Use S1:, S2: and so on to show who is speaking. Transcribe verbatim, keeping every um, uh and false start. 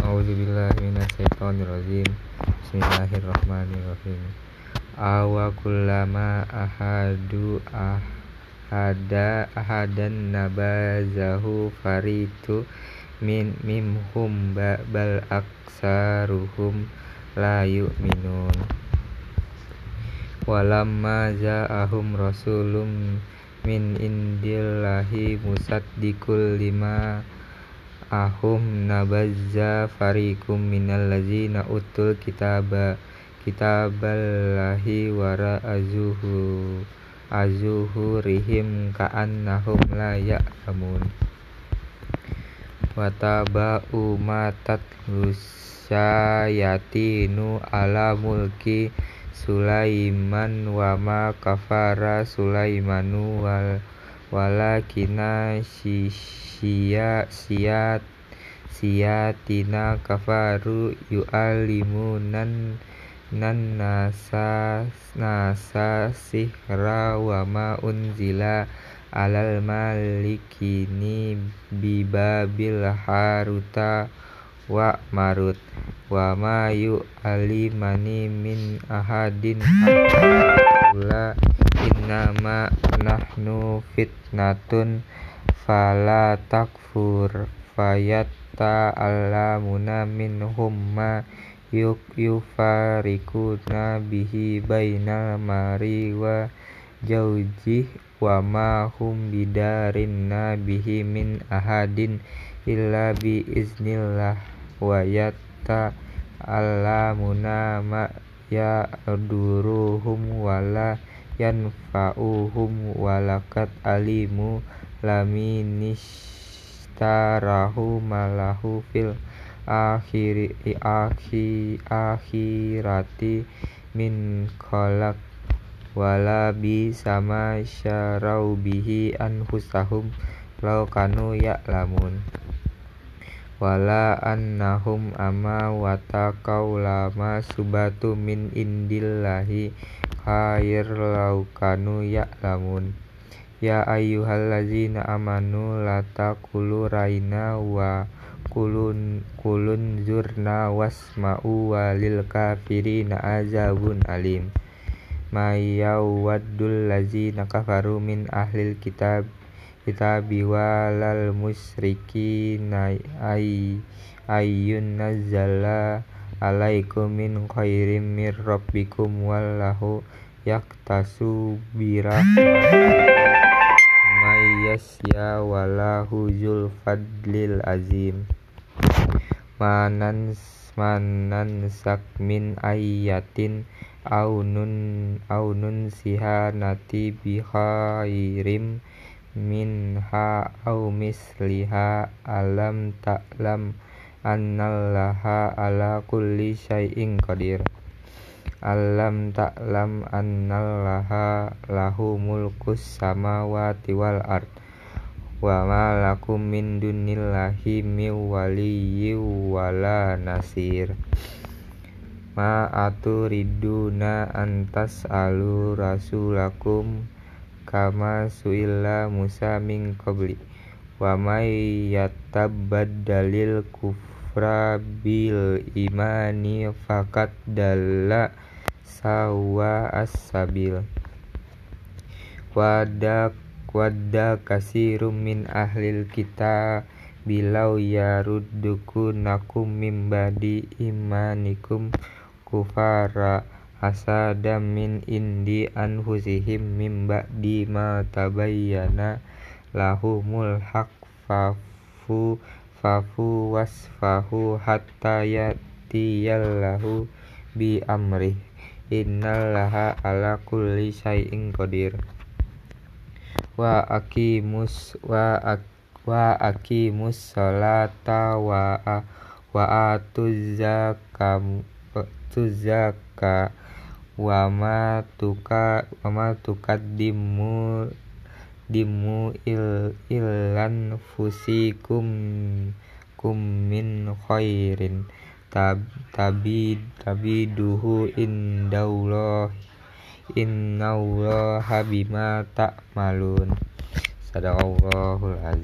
S1: A'udzubillahi minasyaitonirrajim. Bismillahirrahmanirrahim. Awa kullama ahadu ahada ahadan nabazahu faritu min mimhum bal aksaruhum la yu'minun. Walamma ja'ahum rasulun min indillahi musaddiqul lima ahum nabazza fariqum minal ladzina utul kitaba kitaballahi wara azuhu azuhurihim ka'annahum la ya'lamun. Wataba'u ma tatlu syayatinu ala mulki Sulaiman wa ma kafara Sulaimanu wal walakina siya siyat siyatina kafaru yu'alimunan nan nasa nasa sihra wa ma unzila alal malikini bibabil haruta wa marut wa ma yu'alimani min ahadin hatta innama nahnu fitnatun fala takfur fayatta alamuna minhum ma yuk yufarikuna bihi bainal mari wa jaujih wa ma hum bidarinna bihi min ahadin illa bi iznillah wa yatta alamuna ma yaduruhum wala yanfa'uhum walakat alimu laminishtarahu malahu fil akhiri akhi akhirati min khalaq wala bi sama syarau bihi anfusahum law kanu ya'lamun. Wala annahum ama wataqaw lama subatu min indillahi khair law kanu ya'lamun. Ya ayyuhallazina amanu la taqulu raina wa kulun kulun zurna wasma'u walil kafirina azabun alim. Mayyawaddul lazina kafaru min ahlil kitab kitabi walal musyrikina ay ayyun nazzala alaikum min khairim mir rabbikum wallahu yaktasu birahmatihi may yasya wallahu zul fadlil azim. Manan manan sak min ayatin aunun aunun sihanati bi khairim minha au misliha alam ta'lam annallaha ala kulli syai'in qadir. Alam ta'lam annallaha lahu mulkus samawati wal ard wa ma lakum min dunillahi min waliyyin wala nasir. Ma aturiduna antas alu rasulakum kama su'ila Musa min qabli wa may yatabaddalil kufra bil imani faqad dalla sawa as-sabil. Wadda wadda kasirum min ahlil kita bilau yaruddukunakum min ba'di imanikum kufara hasadam min indi anfusihim min ba'di ma tabayyana lahumul haq fafu fafu wasfahu hatta yatiyallahu bi amrih innallaha ala kulli syai'in qadir. Wa aqimus wa ak, wa aqimus sholata wa wa atuz zakam tuzaka wa ma tuka wa ma tukaddimu dimu il ilan fusikum kum min khairin tab tabi tabiduhu indallah innallaha bima ta'malun. Sadaqallahul azim.